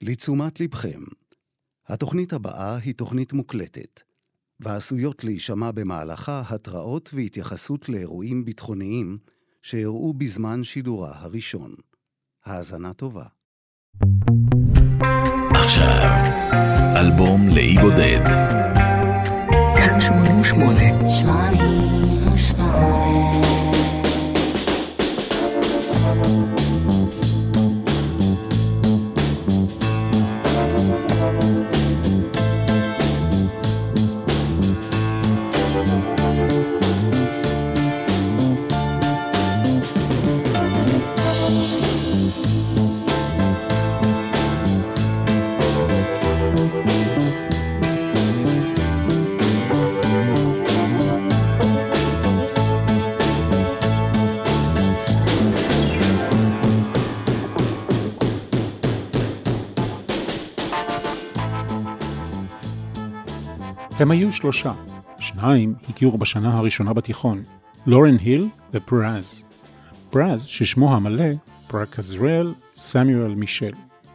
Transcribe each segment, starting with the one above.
לתשומת לבכם. התוכנית הבאה היא תוכנית מוקלטת, ועשויות להישמע במהלכה התראות והתייחסות לאירועים ביטחוניים שאירעו בזמן שידורה הראשון. האזנה טובה. עכשיו, אלבום לאי בודד. כאן 88. הם היו שלושה. שניים הכירו בשנה הראשונה בתיכון, לורן היל ופרז. פרז ששמו המלא פרקזרל סמיואל מישל.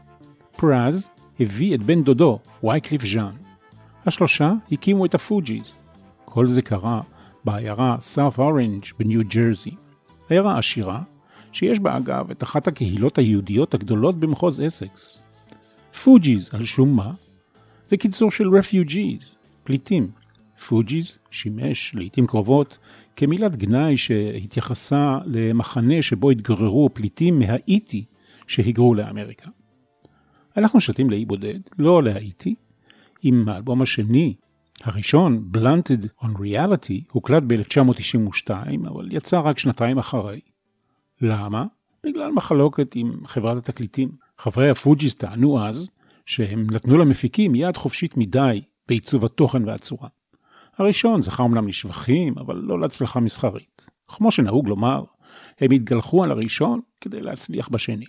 פרז הביא את בן דודו, וייקליף ז'אן. השלושה הקימו את הפוג'יז. כל זה קרה בעיירה סאות' אורנג' בניו ג'רזי. עיירה עשירה שיש בה אגב את אחת הקהילות היהודיות הגדולות במחוז אסקס. פוג'יז על שום מה? זה קיצור של refugees. פליטים. פוג'יז שימש לעתים קרובות כמילת גנאי שהתייחסה למחנה שבו התגוררו פליטים מהאיטי שהיגרו לאמריקה. אנחנו שתים לאי בודד, לא להאיטי, עם האלבום השני, הראשון, Blunted on Reality, הוקלט ב-1992, אבל יצא רק שנתיים אחרי. למה? בגלל מחלוקת עם חברת התקליטים. חברי הפוג'יז טענו אז שהם נתנו למפיקים יד חופשית מדי בעיצוב התוכן והצורה. הראשון זכה אומנם לשבחים, אבל לא להצלחה מסחרית. כמו שנהוג לומר, הם התגלחו על הראשון כדי להצליח בשני.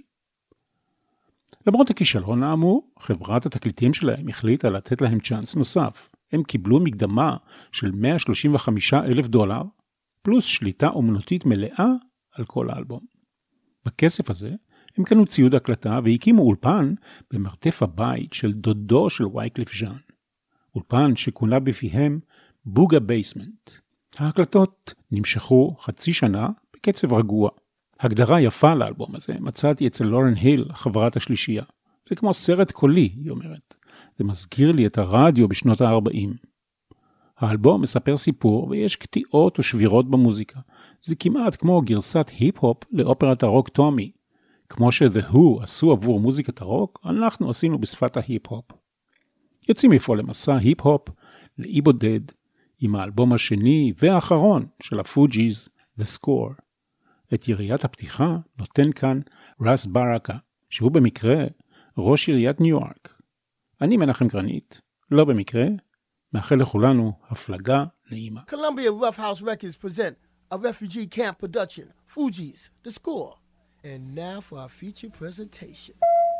למרות הכישלון האמור, חברת התקליטים שלהם החליטה לתת להם צ'אנס נוסף. הם קיבלו מקדמה של $135,000, פלוס שליטה אומנותית מלאה על כל האלבום. בכסף הזה, הם קנו ציוד הקלטה והקימו אולפן במרתף הבית של דודו של וייקליף ז'אן. אולפן שכונה בפיהם בוגה בייסמנט. ההקלטות נמשכו חצי שנה בקצב רגוע. הגדרה יפה לאלבום הזה מצאתי אצל לורן היל, חברת השלישייה. זה כמו סרט קולי, היא אומרת. זה מזכיר לי את הרדיו בשנות ה-40. האלבום מספר סיפור ויש קטיעות ושבירות במוזיקה. זה כמעט כמו גרסת היפ-הופ לאופרת הרוק טומי. כמו ש-The Who עשו עבור מוזיקת הרוק, אנחנו עשינו בשפת ההיפ-הופ. יוצאים מפה למסע היפ-הופ לאי בודד עם האלבום השני והאחרון של הפוג'יז, The Score. את יריית הפתיחה נותן כאן רס ברקה, שהוא במקרה ראש עיריית ניו יורק. אני מנחם גרנית, לא במקרה, מאחל לכולנו הפלגה נעימה. Columbia Rough House Records present a refugee camp production, Fugees, The Score. And now for our feature presentation.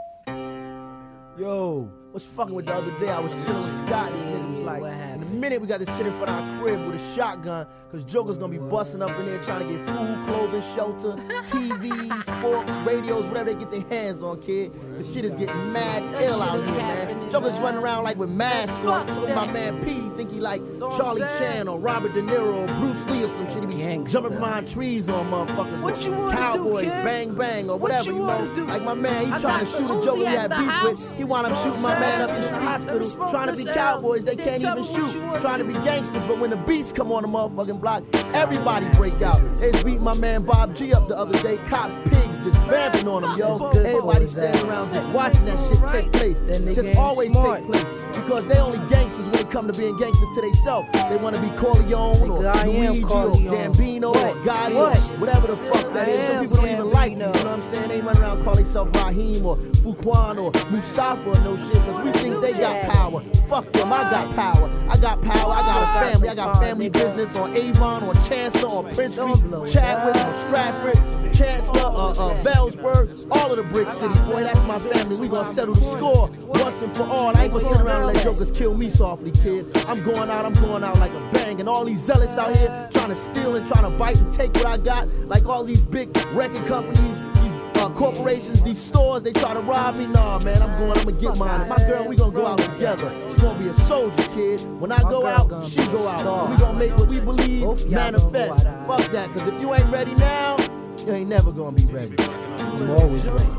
Yo, what's fucking with the other day? I was chilling with Scott. This nigga was like, in a minute we got to sit in front of our crib with a shotgun, because Joker's gonna be busting up in there trying to get food, clothing, shelter, TVs, forks, radios, whatever they get their hands on, kid. The shit is getting mad ill out here, man. Joker's running around like with masks on. So my man Petey think he like Charlie Chan or Robert De Niro or Bruce Lee or some shit. He be jumping behind trees on motherfuckers. What you want Cowboys, to do, kid? bang bang or whatever, you know. Like my man, he trying to shoot a Joker he had beef with. He wound up shooting my man up in the hospital, trying to be cowboys, they can't even shoot, trying to be gangsters, but when the beats come on the motherfucking block, everybody break out. They beat my man Bob G up the other day, cops, pigs, just vamping on him, yo. Everybody standing around just watching that shit take place, just always take place, because they only gangsters when it come to being gangsters to themselves. They want to be Corleone or Luigi or Gambino or Gotti or whatever the fuck that is. Some people don't even like you know what I'm saying? They run around calling themselves Raheem or Fuquan or Mustafa or no shit, because we think they got power. Fuck them, I got power. I got power, I got a family. I got family business on Avon or Chancellor or Prince Street, Chadwick or Stratford, Chancellor or Bellsburg, all of the brick city. Boy, that's my family. We gonna settle the score once and for all. I ain't gonna sit around and let jokers kill me softly, kid. I'm going out like a bang. And all these zealots out here trying to steal and trying to bite and take what I got, like all these big record companies, these corporations, these stores, they try to rob me. Nah, man, I'm gonna get mine. My girl, we gonna go out together. She gonna be a soldier, kid. When I go out, she go out. We gonna make what we believe manifest. Fuck that, cause if you ain't ready now, you ain't never gonna be ready. I'm always ready.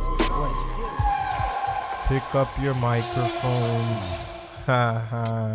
Pick up your microphones. Ha ha.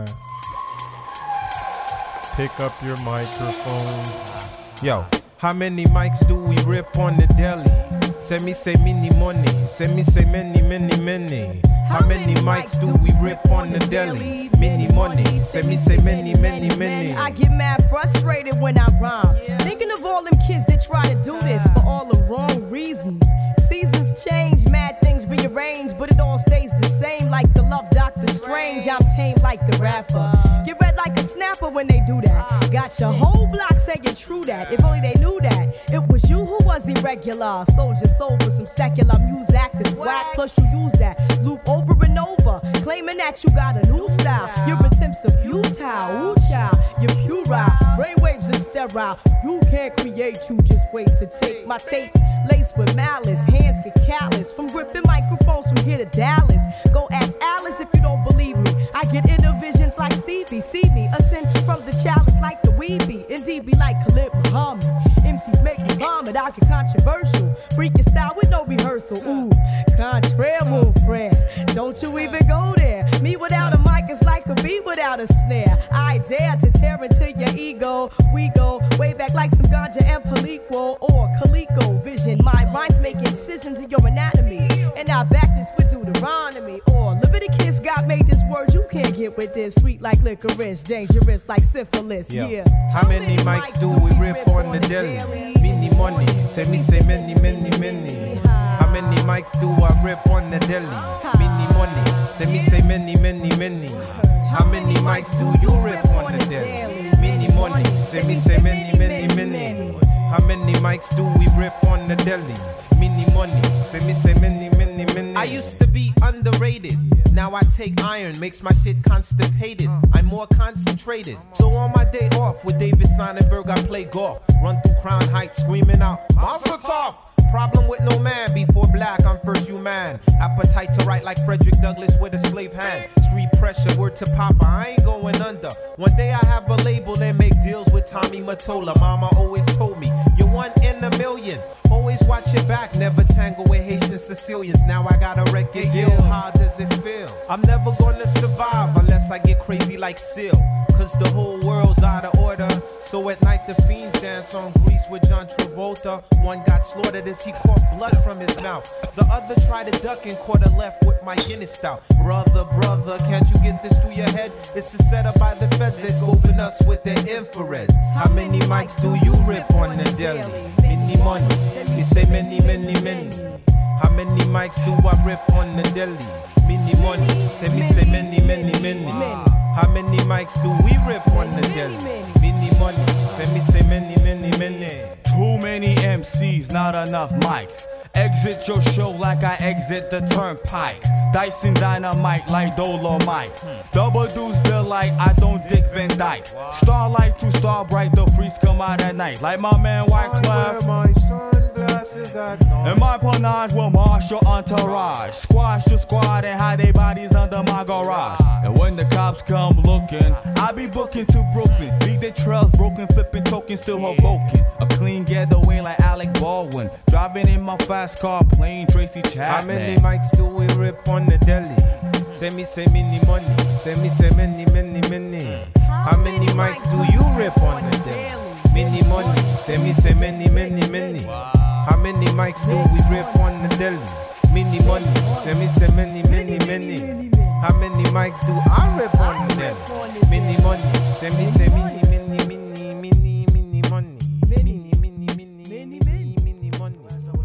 Pick up your microphones. Yo, how many mics do we rip on the deli? Say me say mini money. Say me say many, many, many. How many mics do we rip on the deli? Mini money. Say me say many, many, many. I get mad frustrated when I rhyme. Thinking of all them kids that try to do this for all the wrong reasons. Seasons change, mad things rearrange, but it all stays the same like the love Dr. Strange. I'm tame like the rapper. Get red like a snapper when they do that. Got your whole block saying true that. If only they knew that. It was you who was irregular. Soldier sold for some secular music that's whack. Plus you use that loop over and over, claiming that you got a new style. Your attempts are futile. Ooh, child, you're puerile. Brainwaves are sterile. You can't create, you just wait to take my tape. Laced with malice, hands get callous from gripping microphones from here to Dallas. Go ask Alice if you don't believe me. I get inner visions like Stevie. See me ascend from the chalice like the Weebie. Indeed be like Khalid Muhammad. MCs make me vomit. I get controversial. Freaking style with no rehearsal. Ooh, contraire, mon frère. Don't you even go there. Me without a mic is like a bee without a snare. I dare to tear into your ego. We go way back like some ganja and Palico or Calico vision. My rhymes make incisions in your anatomy. And I back this with Deuteronomy. Or Leviticus, God made this word you can't get with this. Sweet like licorice, dangerous like syphilis. Yeah. How many mics do we rip on the deli? Mini money. Say me say many, many, many. How many mics do I rip on the deli? Mini money. Say me say many, many, many. How many mics do you rip on the deli? Mini money. Say me say many, many, many. How many mics do we rip on the deli? Mini money. Say me say many, many, many. I used to be underrated. Now I take iron, makes my shit constipated. I'm more concentrated. So on my day off with David Sonnenberg, I play golf. Run through Crown Heights screaming out, Monster Tough! Problem with no man, before black, I'm first human. Appetite to write like Frederick Douglass with a slave hand. Street pressure, word to Papa, I ain't going under. One day I have a label and make deals with Tommy Mottola. Mama always told me, you're one in a million. Always watch your back, never tangle with Haitian Sicilians. Now I got a record deal, how does it feel? I'm never gonna survive unless I get crazy like Seal. Cause the whole world's out of order. So at night the fiends dance on Grease with John Travolta. One got slaughtered as he caught blood from his mouth. The other tried to duck and caught a left with my Guinness stout. Brother, brother, can't you get this through your head? It's a setup by the feds, they scoping us with their infrareds. How many mics do you rip on the deli? Mini money, we say many, many, many. How many mics do I rip on the deli? Mini money, say me say many, many, many. How many mics do we rip on the deli? Mini money, say me say many, many, many. Too many MCs, not enough mics. Exit your show like I exit the turnpike. Dyson dynamite like Dolomite. Double deuce bill like I don't Dick Van Dyke. Starlight to star bright, the freaks come out at night. Like my man Wyclef. My sunglasses at night. And my panache will marshal entourage. Squash the squad and hide their bodies under my garage. And when the cops come looking, I be booking to Brooklyn. Leave their trails broken, flipping tokens, still Hoboken. A clean getaway like Alec Baldwin. Driving in my fast car, playing Tracy Chapman. How many mics do we rip on the deli? Say me say many money. Say me say many, many, many. How many mics do you rip on the deli? Many money. Say me say many, many, many. How many mics do we rip on the deli? Many money. Say me say many, many, many. How many mics do I rip on the deli? Many money. Say me say many, many, many, many, many money. Many, many, many, many, many money.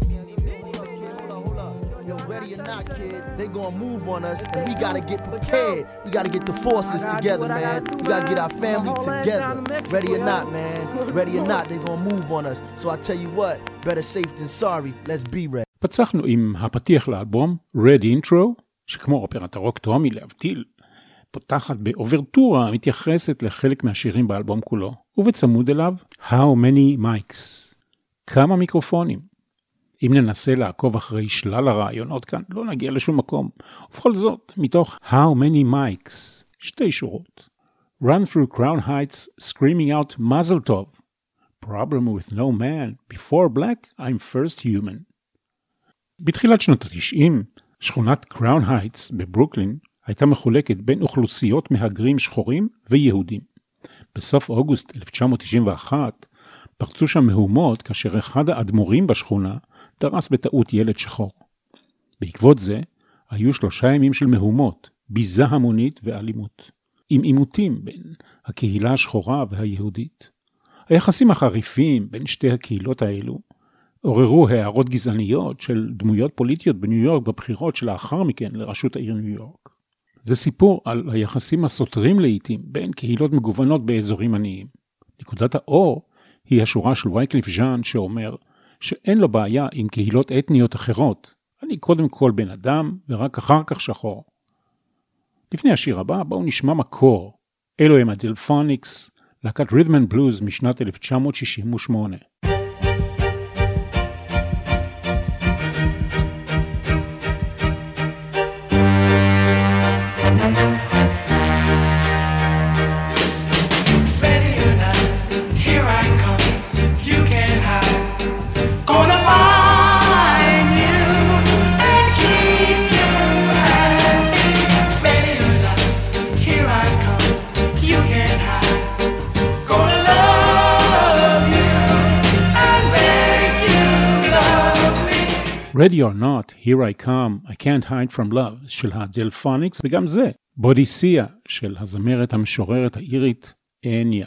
Hold up. Yo, ready or not, kid, they gonna move on us, and we gotta get prepared. We gotta get the forces together, man. We gotta get our family together. Ready or not, man. Ready or not, they gonna move on us. So I tell you what, better safe than sorry. Let's be ready. פצחנו עם הפתיח לאלבום Red Intro, שכמו אופרת הרוק טומי להבדיל, פותחת באוברטורה המתייחסת לחלק מהשירים באלבום כולו, ובצמוד אליו How Many Mics, כמה מיקרופונים. אם ננסה לעקוב אחרי שלל הרעיונות כאן, לא נגיע לשום מקום. ובכל זאת, מתוך How Many Mics, 2 שורות. Run through Crown Heights, screaming out Mazel Tov. Problem with no man. Before black, I'm first human. בתחילת שנות ה-90, שכונת קראון הייטס בברוקלין הייתה מחולקת בין אוכלוסיות מהגרים שחורים ויהודים. בסוף אוגוסט 1991 פרצו שם מהומות כאשר אחד האדמו"רים בשכונה דרס בטעות ילד שחור. בעקבות זה היו 3 ימים של מהומות, ביזה המונית ואלימות, עם עימותים בין הקהילה השחורה והיהודית. היחסים החריפים בין שתי הקהילות האלו עוררו הערות גזעניות של דמויות פוליטיות בניו יורק בבחירות שלאחר מכן לראשות העיר ניו יורק. זה סיפור על היחסים הסותרים לעתים בין קהילות מגוונות באזורים עניים. נקודת האור היא השורה של וייקליף ז'אן שאומר שאין לו בעיה עם קהילות אתניות אחרות. אני קודם כל בן אדם ורק אחר כך שחור. לפני השיר הבא בואו נשמע מקור. אלו הם הדלפוניקס, להקת רית'ם אנד בלוז משנת 1968. Ready or not, here I come, I can't hide from love של הדלפוניקס, וגם זה, בודיסיה של הזמרת המשוררת האירית אניה.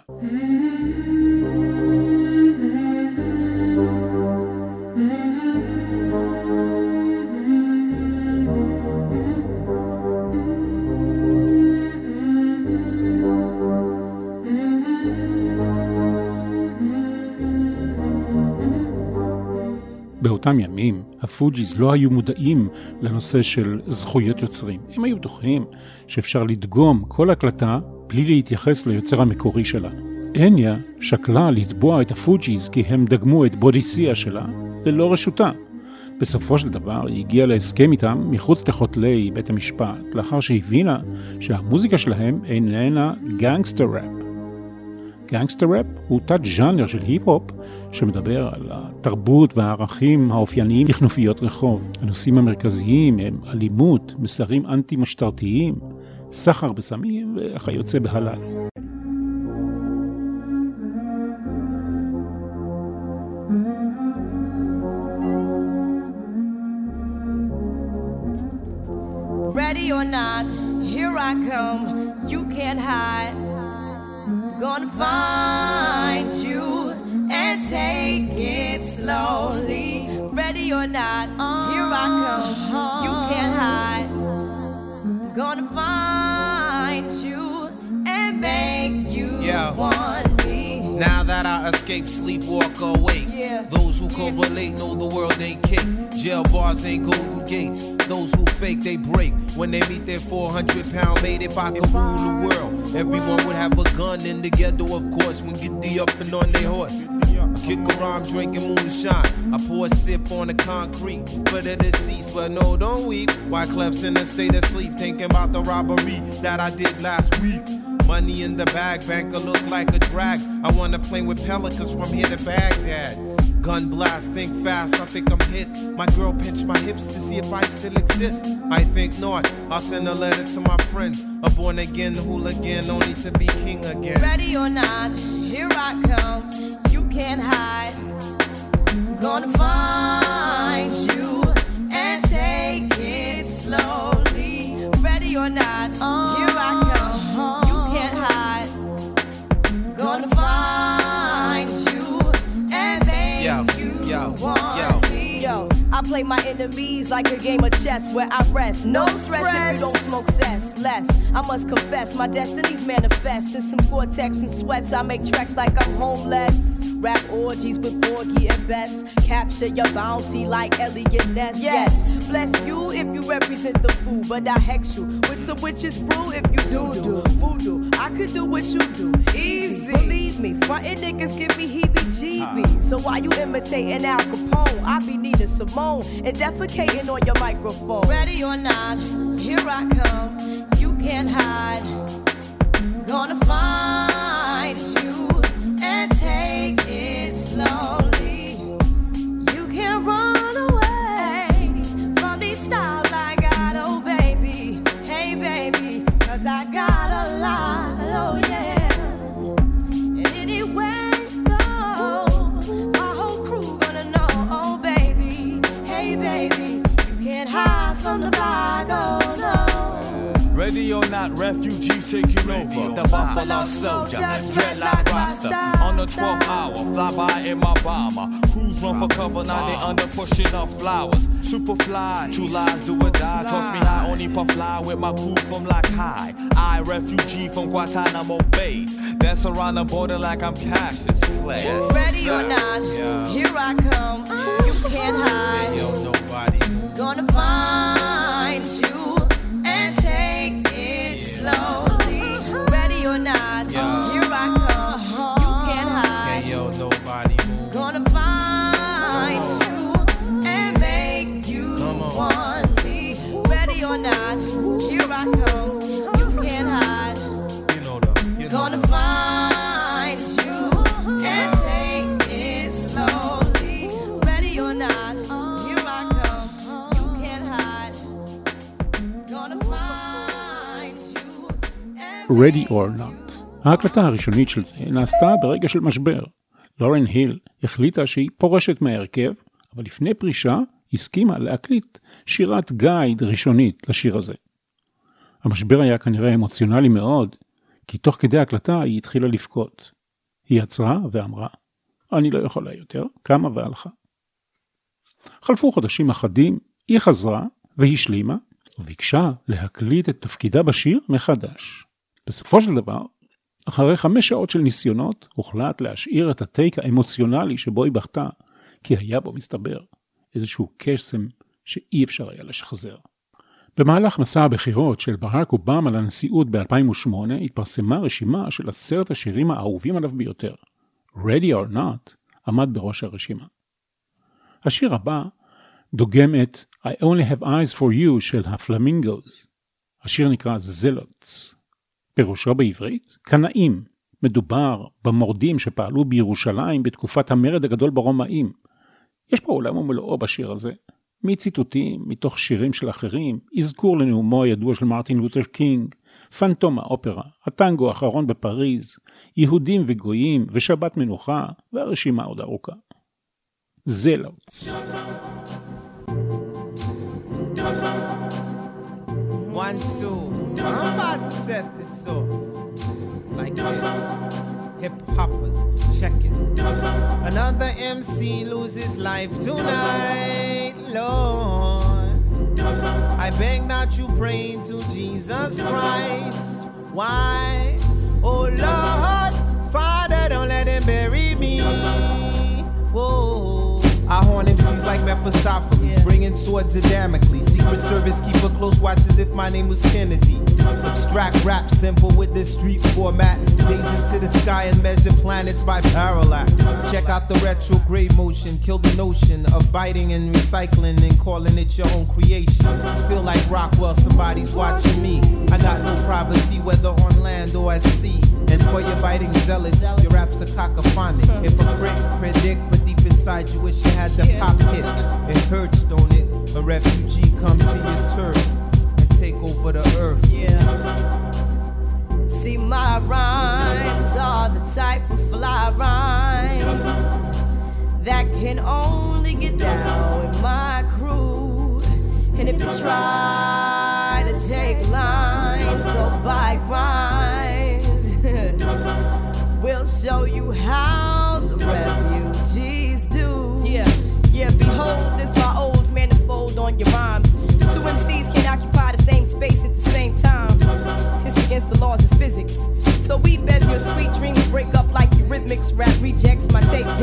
באותם ימים, הפוג'יז לא היו מודעים לנושא של זכויות יוצרים. הם היו בטוחים שאפשר לדגום כל הקלטה בלי להתייחס ליוצר המקורי שלה. אניה שקלה לתבוע את הפוג'יז כי הם דגמו את בודיסיה שלה ללא רשותה. בסופו של דבר היא הגיעה להסכם איתם מחוץ לחותלי בית המשפט, לאחר שהבינה שהמוזיקה שלהם איננה גנגסטר ראפ. גנגסטר ראפ הוא תת ז'אנר של היפ-הופ שמדבר על התרבות והערכים האופייניים לכנופיות רחוב. הנושאים המרכזיים הם אלימות, מסרים אנטי-משטרתיים, סחר בסמים וכיוצא בהלל. Ready or not, here I come, you can't hide. Gonna find you and take it slowly. Ready or not, here I come, you can't hide. Gonna find you and make you want me. Now that I escape, sleep, walk awake. Those who correlate know the world ain't cake. Jail bars ain't golden gates. Those who fake, they break. When they meet their 400-pound mate, if I could rule the world, everyone would have a gun in the ghetto, of course, when get the up and on their horse. I kick around drinking moonshine. I pour a sip on the concrete for the deceased, but no, don't weep. Why Clef's in a state of sleep, thinking about the robbery that I did last week. Money in the bag, banker look like a drag. I wanna play with pelicans from here to Baghdad. Gun blast, think fast, I think I'm hit. My girl pinched my hips to see if I still exist. I think not, I'll send a letter to my friends. A born again hooligan, only to be king again. Ready or not, here I come, you can't hide. Gonna find you and take it slowly. Ready or not, here I come, you can't hide. Gonna find you and make you want me. Yo, I play my enemies like a game of chess where I rest. No stress if you don't smoke cess. Less, I must confess, my destinies manifest. In some Gore-Tex and sweats, I make tracks like I'm homeless. Rap orgies with Porgy and Bess. Capture your bounty like Elliot Ness. Yes, bless you if you represent the fool, but I hex you with some witches brew if you do voodoo. I could do what you do, easy. Believe me, frontin' niggas give me heebie-jeebies. So while you imitating Al Capone, I be needing Simone and defecating on your microphone. Ready or not, here I come. You can't hide. Gonna find you and take it slowly. You can't run away from these styles I got, oh baby. Hey baby, 'cause I got a lot, oh yeah. And anywhere you go, my whole crew gonna know, oh baby. Hey baby, you can't hide from the block, oh no. Ready or not, refugees taking over. The Buffalo Soldier, dreadlock roster. On the 12th hour, fly by in my bomber. Crews run for cover, now they under pushing up flowers. Superfly, true lies do or die. Toss me high, only puff fly with my crew from like high. I, refugee from Guantanamo Bay. Dance around the border like I'm Cassius Clay. Yes. Ready or not, here I come. You can't hide. Yo, nobody. Gonna find you and take it slowly. Ready or not, here I come. You can't hide. Hey, yo, nobody move. Gonna find you and make you want me. Ready or not, here I come. You can't hide. You know though. Gonna find you and take it slowly. Ready or not, here I come. You can't hide. Gonna find you and Ready or Not. ההקלטה הראשונית של זה נעשתה ברגע של משבר. לורן היל החליטה שהיא פורשת מהרכב, אבל לפני פרישה הסכימה להקליט שירת גייד ראשונית לשיר הזה. המשבר היה כנראה אמוציונלי מאוד, כי תוך כדי ההקלטה היא התחילה לבכות. היא עצרה ואמרה, אני לא יכולה יותר, קמה והלכה. חלפו חודשים אחדים, היא חזרה והשלימה, וביקשה להקליט את תפקידה בשיר מחדש. בסופו של דבר, אחרי 5 שעות של ניסיונות, הוחלט להשאיר את הטייק האמוציונלי שבו היא בכתה, כי היה בו מסתבר איזשהו קסם שאי אפשר היה לשחזר. במהלך מסע הבחירות של ברק אובמה לנשיאות ב-2008, התפרסמה רשימה של 10 השירים האהובים עליו ביותר. Ready or Not עמד בראש הרשימה. השיר הבא דוגם את I Only Have Eyes for You של הפלמינגוז. השיר נקרא זלוטס. פירושו בעברית, קנאים. מדובר במורדים שפעלו בירושלים בתקופת המרד הגדול ברומאים. יש פה עולם ומלואו בשיר הזה. מציטוטים, מתוך שירים של אחרים, אזכור לנאומו הידוע של מרטין לותר קינג, פנטום האופרה, הטנגו האחרון בפריז, יהודים וגויים ושבת מנוחה, והרשימה עוד ארוכה. זלוטס. 1, 2, I'm about to set this off like this. Hip hoppers, check it. Another MC loses life tonight, Lord. I beg that you pray to Jesus Christ. Why? Oh Lord, Father, don't let him bury me. Whoa. I horn MCs like Mephistopheles, bringing swords of Damocles. Secret Service keep a close watch as if my name was Kennedy. Abstract rap simple with this street format. Gaze into the sky and measure planets by parallax. Check out the retrograde motion, kill the notion of biting and recycling and calling it your own creation. I feel like Rockwell, somebody's watching me. I got no privacy whether on land or at sea. And for your biting zealots, your raps are cacophonic. Hypocrite, predict, but deep inside you wish you had the pop hit. It hurts, don't it? A refugee come to your turf and take over the earth. See, my rhymes are the type of fly rhymes that can only get down with my crew. And if you try to take lines or buy rhymes, we'll show you how the refugees do. Yeah, behold, this my old manifold on your rhymes. 2 MCs can't occupy the same space at the same time. It's against the laws of physics. So we bet your sweet dreams break up like Eurythmics. Rap rejects my tape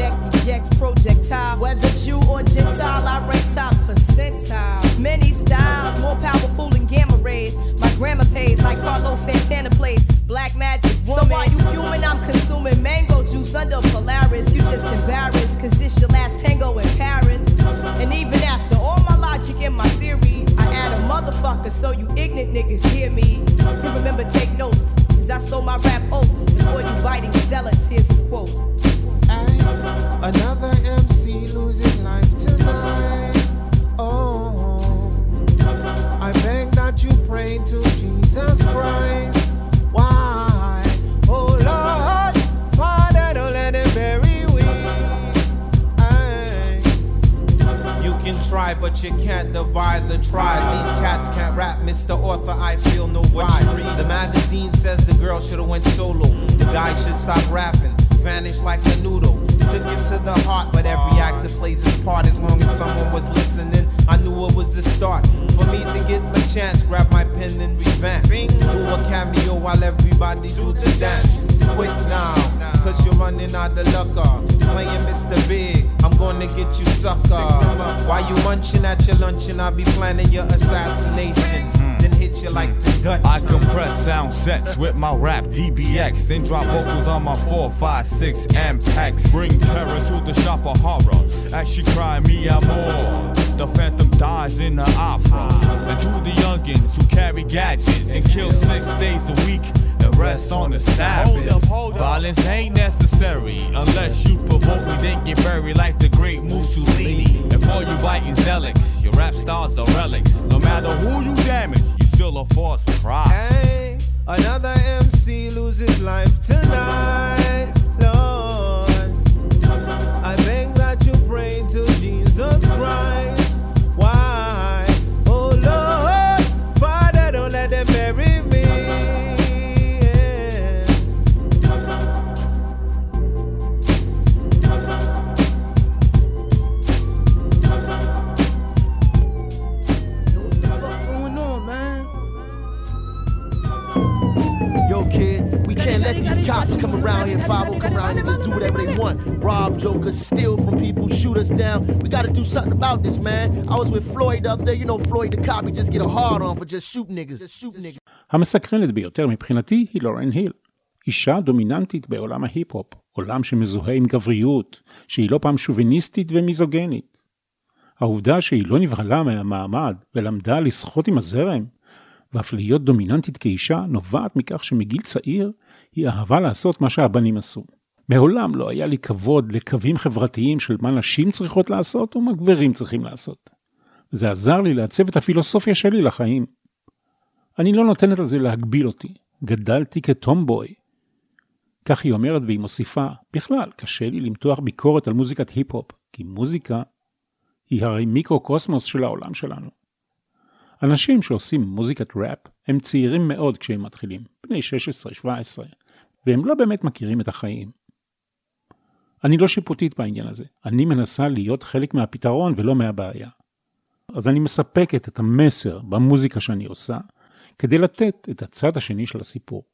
pays like Carlos Santana plays Black Magic Woman. So while you fuming, I'm consuming mango juice under Polaris. You just embarrassed, cause it's your last tango in Paris. And even after all my logic and my theory, I add a motherfucker so you ignorant niggas hear me. And remember, take notes, cause I sold my rap oats before you biting zealots. Here's a quote. Another MC losing life tonight. Oh, I beg that you pray to Jesus Christ. Why? Oh Lord, Father, don't let him bury we. You can try, but you can't divide the tribe. These cats can't rap, Mr. Author, I feel no vibe. The magazine says the girl should've went solo. The guy should stop rapping, vanish like a noodle. Took it to the heart, but every actor plays his part. As long as someone was listening, I knew it was the start. For me to get my chance, grab my pen and revamp. Do a cameo while everybody do the dance. Quick now, cause you're running out of luck. Playing Mr. Big, I'm gonna get you sucker. While you munching at your luncheon, I'll be planning your assassination. Then hit you like the Dutch. I compress sound sets with my rap DBX, then drop vocals on my 4, 5, 6 Ampex. Bring terror to the shop of horror as she cry me amor. The phantom dies in the opera. And to the youngins who carry gadgets and kill 6 days a week and rest on the Sabbath. Hold up. Violence ain't necessary unless you provoke me, then get buried like the great Mussolini. And for you biting zealots, your rap stars are relics. No matter who you damage, you still a false prophet. Hey, another MC loses life tonight, Lord. I beg that you pray to Jesus Christ. Why? Oh Lord, Father, don't let them bury me. Let these cops come around here, 5-0 come around here and just do whatever they want. Rob jokers, steal from people, shoot us down. We gotta do something about this, man. I was with Floyd the other day, you know Floyd the cop, he just get a hard on for just shoot niggas. המסקרנת ביותר מבחינתי היא לורן היל. אישה דומיננטית בעולם ההיפ-הופ, עולם שמזוהה עם גבריות, שהיא לא פעם שוביניסטית ומיזוגנית. העובדה שהיא לא נבהלה מהמעמד ולמדה לשחות עם הזרם, ואף להיות דומיננטית כאישה נובעת מכך שמגיל צעיר היא אהבה לעשות מה שהבנים עשו. מעולם לא היה לי כבוד לקווים חברתיים של מה נשים צריכות לעשות ומה גברים צריכים לעשות. זה עזר לי לעצב את הפילוסופיה שלי לחיים. אני לא נותנת על זה להגביל אותי. גדלתי כטומבוי. כך היא אומרת והיא מוסיפה, בכלל קשה לי למתוח ביקורת על מוזיקת היפ-הופ, כי מוזיקה היא הרי מיקרו-קוסמוס של העולם שלנו. אנשים שעושים מוזיקת ראפ הם צעירים מאוד כשהם מתחילים, בני 16-17, והם לא באמת מכירים את החיים. אני לא שיפוטית בעניין הזה, אני מנסה להיות חלק מהפתרון ולא מהבעיה. אז אני מספקת את המסר במוזיקה שאני עושה, כדי לתת את הצד השני של הסיפור.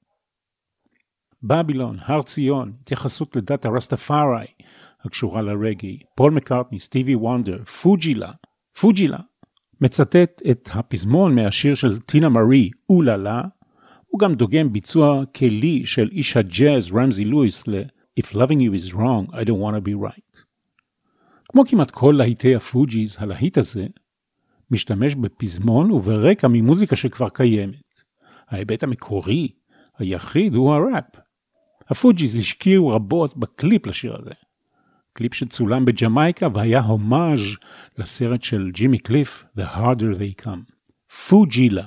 בבילון, הר ציון, התייחסות לדת הרסטפארי, הקשורה לרגי, פול מקארטני, סטיבי וונדר, פוג'ילה, מצטט את הפזמון מהשיר של טינה מארי, אוללה, הוא גם דוגם ביצוע כלי של איש הג'אז רמזי לואיס ל-If loving you is wrong, I don't want to be right. כמו כמעט כל להיטי הפוג'יז, הלהיט הזה משתמש בפזמון וברקע ממוזיקה שכבר קיימת. ההיבט המקורי, היחיד, הוא הראפ. הפוג'יז השקיעו רבות בקליפ לשיר הזה. קליפ שצולם בג'מייקה והיה הומאז' לסרט של ג'ימי קליף, The Harder They Come. פוג'ילה.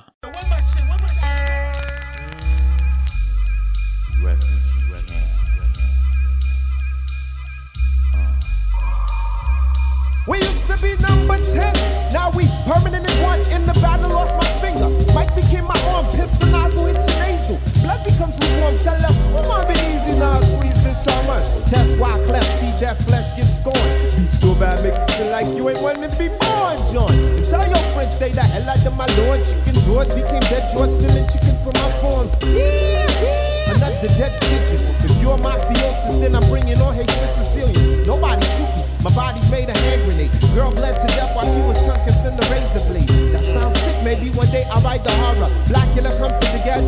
We used to be number 10, now we permanent in one. In the battle, lost my finger. Mike became my arm, pistol nozzle, it's a nasal. Blood becomes lukewarm, tell them, come on, be easy now, squeeze this shaman. Test why cleft, see that flesh get scorned. Beat so bad, make you feel like you ain't wanting to be born, John. And tell your friends, stay the hell out of my lord. Chicken George became dead George, stealing chickens from my farm. Another dead pigeon. If you're mafiosis, then I'm bringing on Haitian Sicilian. Nobody shoot me. My body's made a hand grenade. Girl bled to death while she was tongue kissing the razor blade. That sounds sick, maybe one day I'll write the horror. Blackula comes to the gas,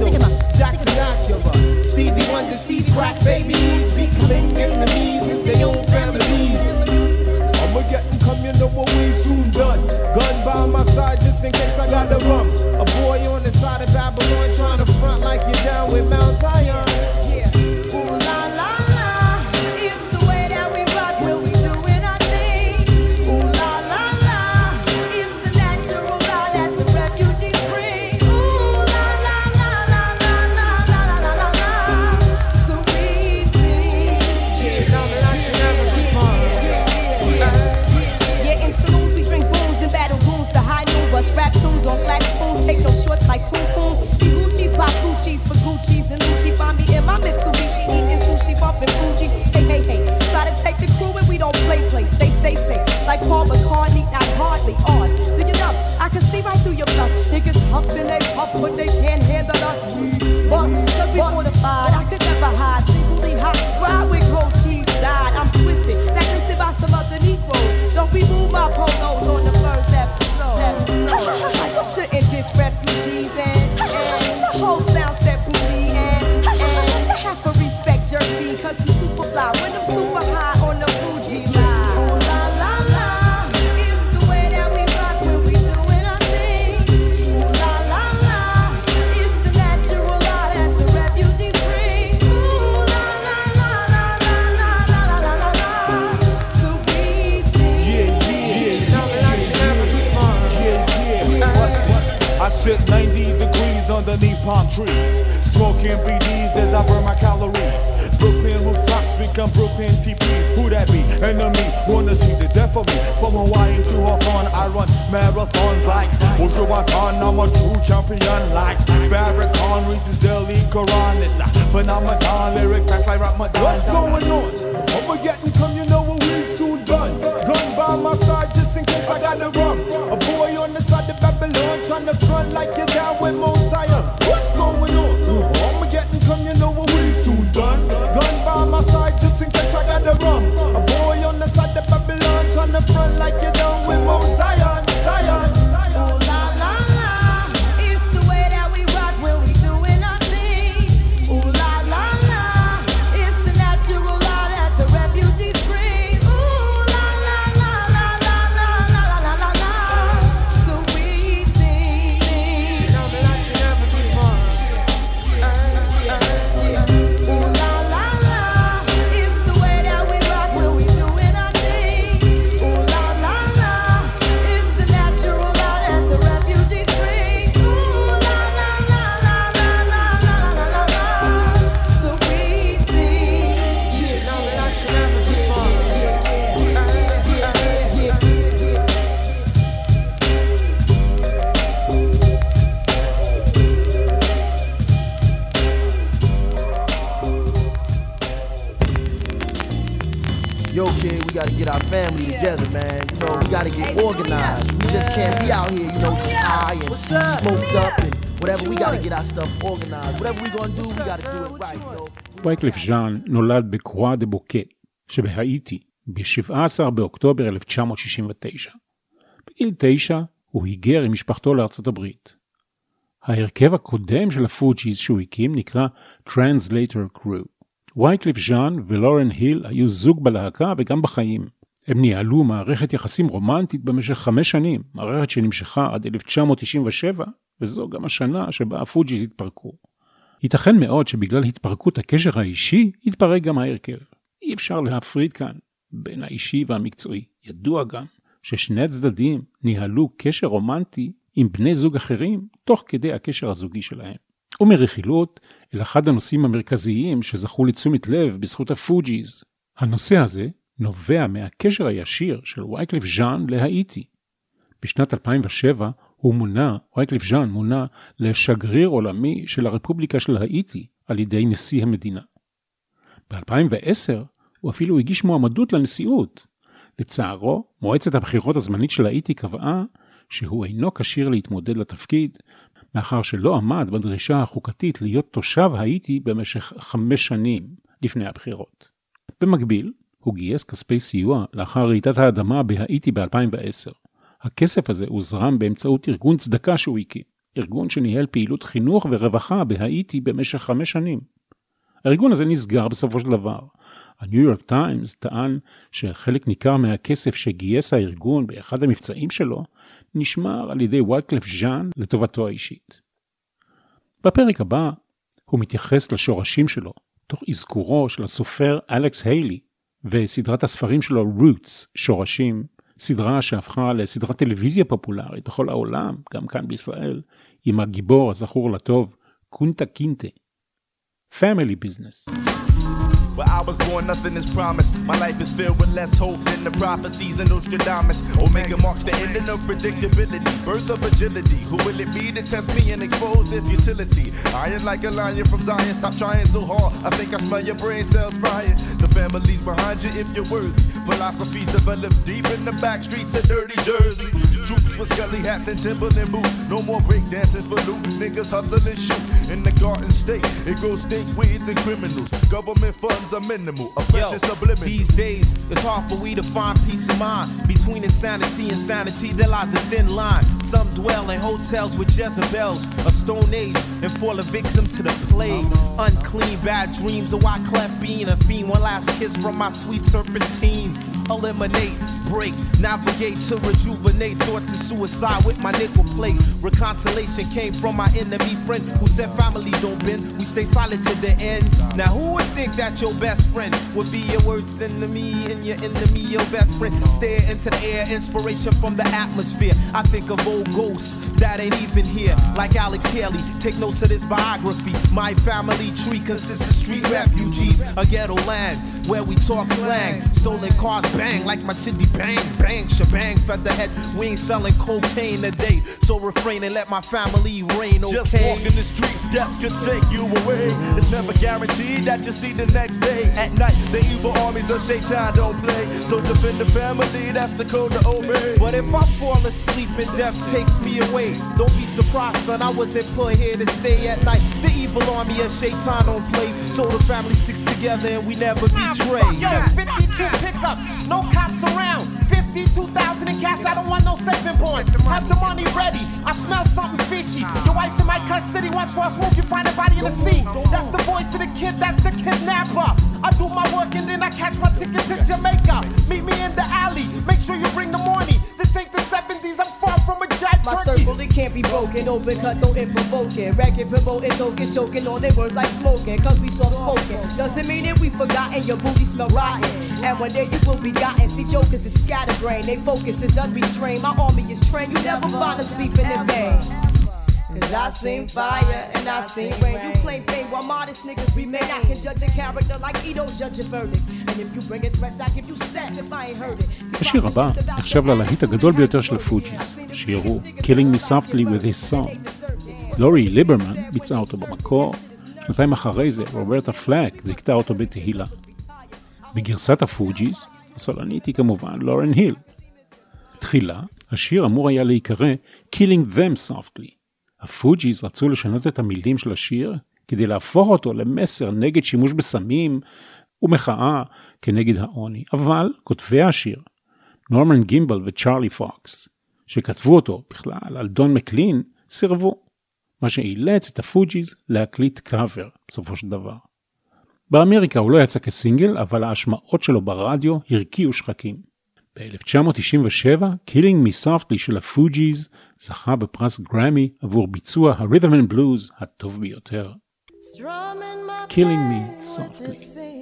Louis and Lucci. Find me in my Mitsubishi eating sushi, bumping Fuji. Hey, hey, hey, try to take the crew and we don't play. Say, like Paul McCartney, not hardly on. Look it up, I can see right through your bluff. Niggas huffing, they puff, but they can't handle us. Bust, cause we fortified, I could never hide. Singly hot, fried with cold cheese, died. I'm twisted, blacklisted by some other Negroes. Don't remove my polos on the first episode. You shouldn't diss refugees and the whole sound set booty and have to respect Jersey, cause I'm super fly when I'm super high on the Fuji line. I sit 90 degrees underneath palm trees, smoking BDs as I burn my calories. Brooklyn rooftops become Brooklyn TPs. Who that be? Enemy, wanna see the death of me. From Hawaii to Hawthorne, I run marathons like Wujuwatan. I'm a true champion like Farrakhan reaches Delhi Quran. It's a phenomenon, lyric facts like Ramadan. What's going on? I'ma get and come, you know what we soon done. Gun by my side just in case I gotta run. A boy on the side of Babylon trying to front like you're down with Mosiah. What's going on? I'ma get and come, you know what we soon done. Gun by my side just in case I gotta run. A boy on the side of Babylon trying to front like you're down with Mosiah. Zion. Yo, kid, we gotta get our family together, man. You know, we gotta get organized. We just can't be out here, you know, high and smoked up and whatever. We gotta get our stuff organized. Whatever we gonna do, we gotta do it right, you know. וייקליף ז'אן נולד בקרואה דה בוקה שבהאיטי ב-17 באוקטובר 1969. בגיל 9 הוא היגר עם משפחתו לארצות הברית. ההרכב הקודם של הפוג'יז שהוא הקים נקרא Translator Crew. וייקליף ז'אן ולורן היל היו זוג בלהקה וגם בחיים. הם ניהלו מערכת יחסים רומנטית במשך 5 שנים, מערכת שנמשכה עד 1997, וזו גם השנה שבה הפוג'יז התפרקו. ייתכן מאוד שבגלל התפרקות הקשר האישי, התפרק גם ההרכב. אי אפשר להפריד כאן בין האישי והמקצועי. ידוע גם ששני הצדדים ניהלו קשר רומנטי עם בני זוג אחרים, תוך כדי הקשר הזוגי שלהם. ומרכילות אל אחד הנושאים המרכזיים שזכו לתשומת לב בזכות הפוג'יז. הנושא הזה נובע מהקשר הישיר של וייקליף ז'אן להאיטי. בשנת 2007 וייקליף ז'אן מונה לשגריר עולמי של הרפובליקה של האיטי על ידי נשיא המדינה. ב-2010 הוא אפילו הגיש מועמדות לנשיאות. לצערו, מועצת הבחירות הזמנית של האיטי קבעה שהוא אינו כשיר להתמודד לתפקיד, מאחר שלא עמד בדרישה החוקתית להיות תושב האיטי במשך 5 שנים לפני הבחירות. במקביל, הוא גייס כספי סיוע לאחר רעידת האדמה בהאיטי ב-2010. הכסף הזה הוזרם באמצעות ארגון צדקה שהוא הקים, ארגון שניהל פעילות חינוך ורווחה בהאיטי במשך 5 שנים. הארגון הזה נסגר בסופו של דבר. הניו יורק טיימס טען שחלק ניכר מהכסף שגייס הארגון באחד המבצעים שלו, נשמר על ידי וייקליף ז'אן לטובתו האישית. בפרק הבא הוא מתייחס לשורשים שלו, תוך אזכורו של הסופר אלכס היילי, וסדרת הספרים שלו רוטס, שורשים, סדרה שהפכה לסדרת טלוויזיה פופולרית בכל העולם, גם כאן בישראל, עם הגיבור הזכור לטוב, קונטה קינטה. Family Business. Where I was born, nothing is promised. My life is filled with less hope than the prophecies of Nostradamus. Omega marks the ending of predictability, birth of agility. Who will it be to test me and expose their futility? Iron like a lion from Zion, stop trying so hard. I think I smell your brain cells frying. The family's behind you if you're worthy. Philosophies developed deep in the back streets of dirty Jersey. Troops with scully hats and Timberland boots. No more breakdancing for loot. Niggas hustle and shoot. In the Garden State, it grows stink weeds and criminals. Government funds are minimal. Oppression subliminal. These days, it's hard for we to find peace of mind. Between insanity and sanity, there lies a thin line. Some dwell in hotels with Jezebels, a stone age, and fall a victim to the plague. Unclean, bad dreams, a Wyclef being a fiend. One last kiss from my sweet serpentine. Eliminate, break, navigate to rejuvenate. Thoughts of suicide with my nickel plate. Reconciliation came from my enemy friend who said family don't bend, we stay silent to the end. Now who would think that your best friend would be your worst enemy and your enemy your best friend? Stare into the air, inspiration from the atmosphere. I think of old ghosts that ain't even here, like Alex Haley. Take notes of this biography. My family tree consists of street refugees, a ghetto land where we talk slang. Stolen cars bang like my chitty bang, bang, shebang, featherhead. We ain't selling cocaine today, so refrain and let my family reign, okay? Just walking the streets, death could take you away. It's never guaranteed that you'll see the next day. At night, the evil armies of Shaitan don't play, so defend the family, that's the code to obey. But if I fall asleep and death takes me away, don't be surprised, son, I wasn't put here to stay at night. The evil army of Shaitan don't play, so the family sticks together and we never betray. Yo, 52 pickups, no cops around. 52,000 in cash, I don't want no saving points. Have the money ready, I smell something fishy. Your wife's in my custody, watch for a smoke, you find a body in the sea. That's the voice of the kid, that's the kidnapper. I do my work and then I catch my ticket to Jamaica. Meet me in the alley, make sure you bring the money. This ain't the 70s, I'm far from a giant My turkey. circle, it can't be broken. Open cut, no provoking. Racket, promoting, token, choking on their words like smoking. Cause we soft spoken. Doesn't mean that we forgotten. Your booty smell rotten. And one day you will be gotten. See, jokers is scatterbrain. They focus is unrestrained. My army is trained. You never find us beefing in vain. Cause I seen fire and I seen rain. You claim fame while modest niggas remain. I can judge a character like he don't judge a verdict. And if you bring it threats, I give you sex if I ain't heard it. השיר הבא נחשב ללהיט הגדול ביותר של הפוג'יז. השיר הוא Killing Me Softly with His Song. לורי ליברמן ביצעה אותו במקור. שנתיים אחרי זה רוברטה פלאק זיכתה אותו בתהילה. בגרסת הפוג'יז הסולנית היא כמובן לורן היל. תחילה השיר אמור היה להיקרא Killing Them Softly. הפוג'יז רצו לשנות את המילים של השיר כדי להפוך אותו למסר נגד שימוש בסמים ומחאה כנגד העוני. אבל כותבי השיר, נורמן גימבל וצ'ארלי פוקס, שכתבו אותו בכלל על דון מקלין, סירבו. מה שאילץ את הפוג'יז להקליט קאבר בסופו של דבר. באמריקה הוא לא יצא כסינגל, אבל ההשמעות שלו ברדיו הרקיעו שחקים. ב-1997, Killing Me Softly של הפוג'יז זכה בפרס גרמי עבור ביצוע ה-Rhythm and Blues הטוב ביותר. Killing Me Softly.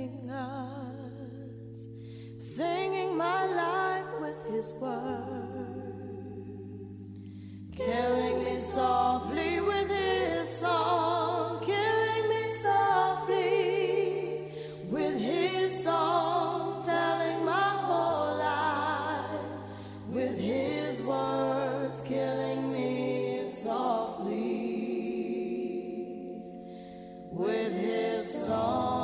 Singing my life with his words, killing me softly with his song, killing me softly with his song, telling my whole life with his words, killing me softly with his song.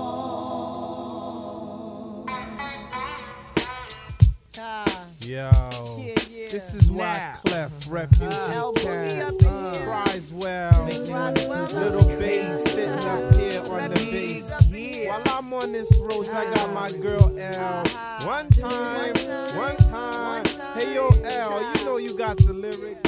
Yo, this is why Clef, Refugee Cat, Criswell, Little Bass sitting up here on the bass. While I'm on this road, I got my girl L. One time. Hey yo L, you know you got the lyrics.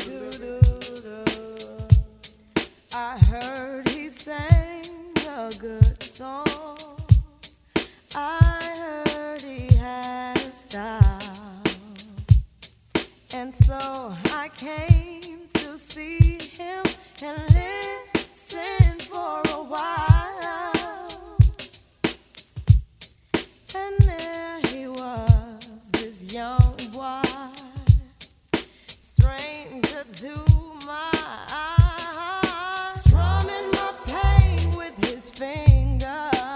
I heard he sang a good song. I heard he had a style. And so I came to see him and listen for a while. And there he was, this young boy, stranger to my eyes, strumming my pain with his fingers.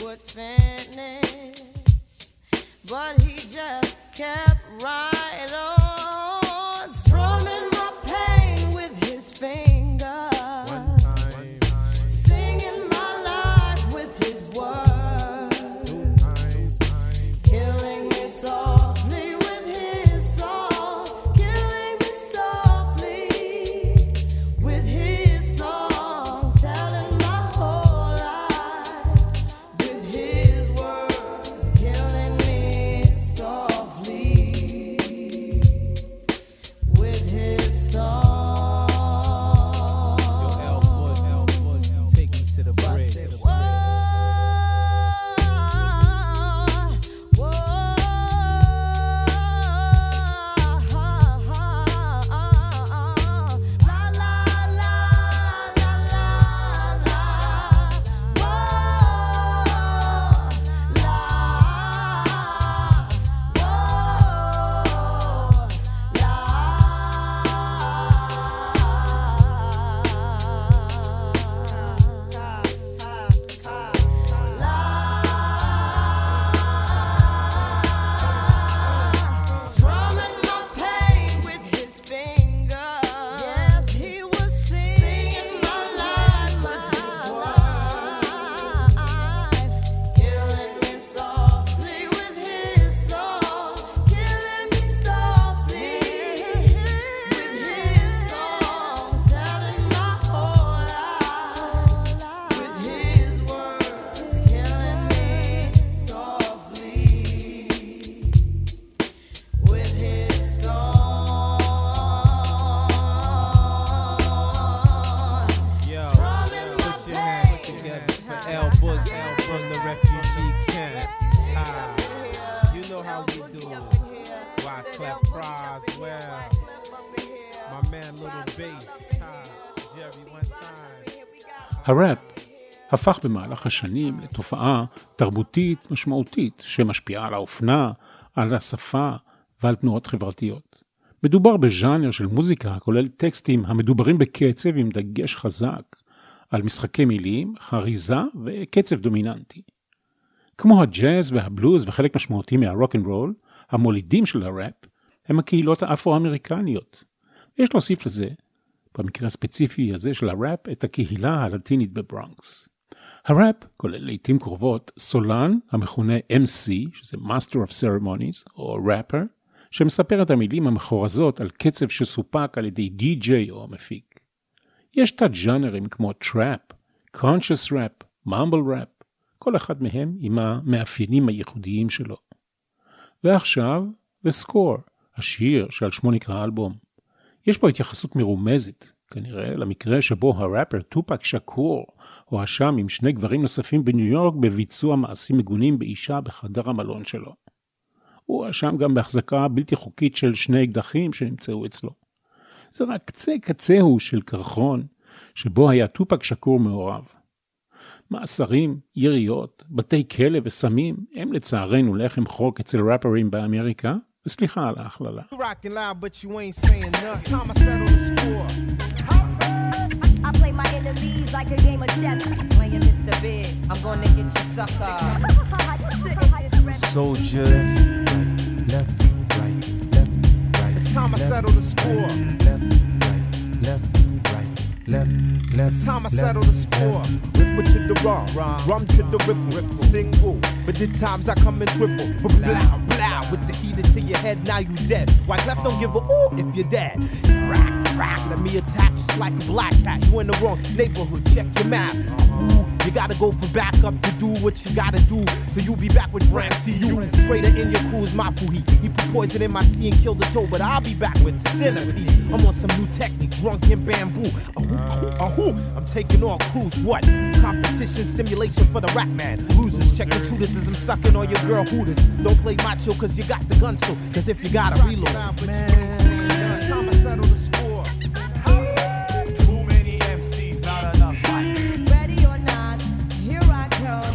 would finish, but he just kept right on, strumming my pain with his fingers, singing my life with his words, killing me softly with his song, killing me softly with his song, telling my whole life with his words, killing me softly with his song. Yo, L-Foot, take me to the bridge. Strumming my pain with his fingers. Yes, he was singing my life with his words, killing me softly with his song, killing me softly with his song, telling my whole life with his words, killing me softly with his song. Yo, Strumming my put your hands pain. together for L-Boogie from the refugee camp. You know how we do. Wyclef Croswell, my man Little Bass, Jerry one time. הראפ הפך במהלך השנים לתופעה תרבותית משמעותית שמשפיעה על האופנה, על השפה ועל תנועות חברתיות. מדובר בז'אנר של מוזיקה הכולל טקסטים המדוברים בקצב עם דגש חזק על משחקי מילים, חריזה וקצב דומיננטי. כמו הג'אז והבלוז וחלק משמעותי מהרוק אנד רול, המולידים של הראפ הם הקהילות האפרו-אמריקניות. יש להוסיף לזה, במקרה הספציפי הזה של הראפ, את הקהילה הלטינית בברונקס. הראפ כולל לעתים קרובות סולן המכונה MC, שזה Master of Ceremonies, או Rapper, שמספר את המילים המחורזות על קצב שסופק על ידי DJ או מפיק. יש תת-ז'אנרים כמו טראפ, Conscious Rap, Mumble Rap, כל אחד מהם עם המאפיינים הייחודיים שלו. ועכשיו, The Score, השיר שעל שמו נקרא האלבום. יש בו התייחסות מרומזת, כנראה למקרה שבו הראפר טופק שקור הואשם עם שני גברים נוספים בניו יורק בביצוע מעשים מגונים באישה בחדר המלון שלו. הוא הואשם גם בהחזקה בלתי חוקית של שני אקדחים שנמצאו אצלו. זה רק קצה קצהו של קרחון שבו היה טופק שקור מעורב. מאסרים, יריות, בתי כלא וסמים הם לצערנו לחם חוק אצל ראפרים באמריקה, וסליחה על ההכללה. You rockin' loud, but you ain't saying nothing. Time I settle the score. I play my enemies like a game of chess. Playing Mr. Big, I'm gonna get you sucker. Soldiers, left, right, left, right. It's time I settle the score. Left, right, left, right, left. It's time I settle the score. Ripper to the rum, rum to the rip, single. But the times I come in triple. Blah, blah, with the heater to your head, now you dead. Wyclef don't give a ooh if you're dead. Rack, rack, let me attack just like a black cat. You in the wrong neighborhood, check your map. Ooh, you gotta go for backup to do what you gotta do. So you be back with Francie, you. Trader in your crew's my fuhi. He put poison in my tea and killed the toe, but I'll be back with Centipede. I'm on some new technique, drunk in bamboo. Ahoo, I'm taking on crews, what? Competition, stimulation for the rap man. Losers, check the tutors as I'm sucking on your girl hooters. Don't play macho cause you got the gun so, cause if you gotta reload. Man, it's time I settle the score. Too many MCs, not enough fight. Ready or not, here I come.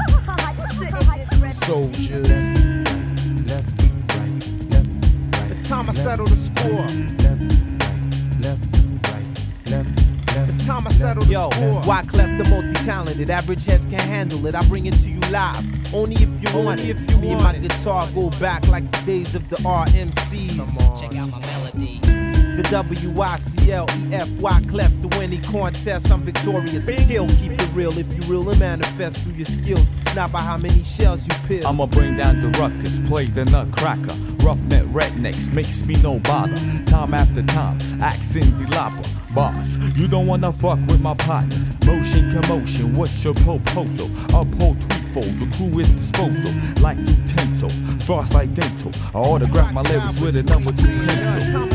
Soldiers. Left, right, left, right. It's time I settle the score. Left, right, left, right, left. It's time I Yo, Wyclef the multi-talented, average heads can't handle it. I bring it to you live, only if you want it. Me and my guitar go back like the days of the RMCs. Check out my melody. The WICLEF, Wyclef, the winning contest, I'm victorious. He'll keep it real if you real and manifest through your skills, not by how many shells you peel. I'ma bring down the ruckus, play the nutcracker. Roughneck rednecks makes me no bother. Time after time, accent the lopper. Boss, you don't wanna fuck with my partners. Motion, commotion, what's your proposal? Uphold threefold, the crew is disposal. Like utensil, frost like dental. I autograph my lyrics with a number 2 pencil.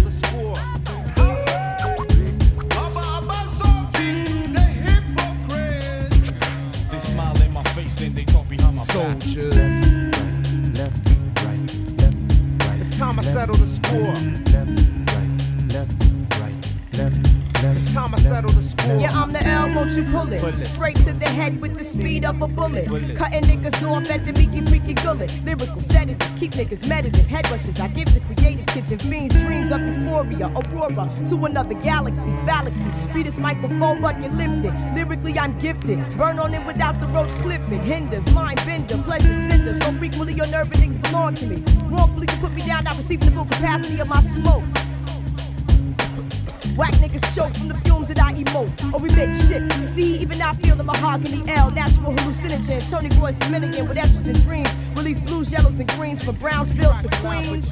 Soldiers, left, right, left, right. It's time I settle the score. Left, right, left, right, left. It's time I settle the score. Yeah, I'm the L, won't you pull it? Straight to the head with the speed of a bullet. Cutting niggas off at the meeky freaky gullet. Lyrical sedative, keep niggas meditative. Head rushes I give to creative kids and fiends. Dreams of euphoria, aurora to another galaxy. Galaxy, be this microphone bucket lifted. Lyrically I'm gifted. Burn on it without the roach clipping. Hinders, mind bender, pleasure cinder. So frequently your nerve endings belong to me. Wrongfully you put me down, not receiving the full capacity of my smoke. Whack niggas choke from the fumes that I emote or remit shit. See, even I feel the mahogany L, natural hallucinogen. Tony Boy's Dominican with estrogen dreams. Release blues, yellows, and greens from Brownsville to Queens.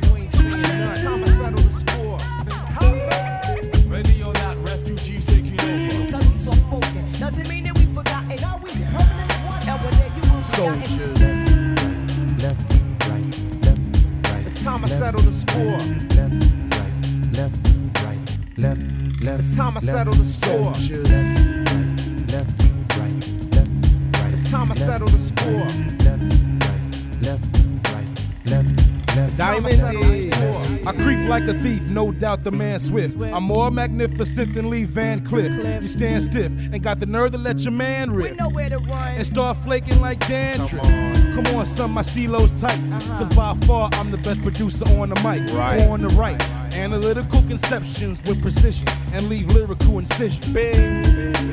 Ready or not, refugees taking over. Doesn't mean that we forgotten. Now we permanent. And one day you will soldiers. Left, right, left, right. It's time I settle the score. Left, right, left, right, left. It's time I settle the score. Soldiers. Left, right, left, right. It's time I settle the score. Left, right, left, right, left. Diamond I creep like a thief, no doubt the man swift. I'm more magnificent than Lee Van Cleef. You stand stiff and got the nerve to let your man riff and start flaking like dandruff. Come on, son, my stilo's tight. Cause by far I'm the best producer on the mic. On the right, analytical conceptions with precision and leave lyrical incision. Bing.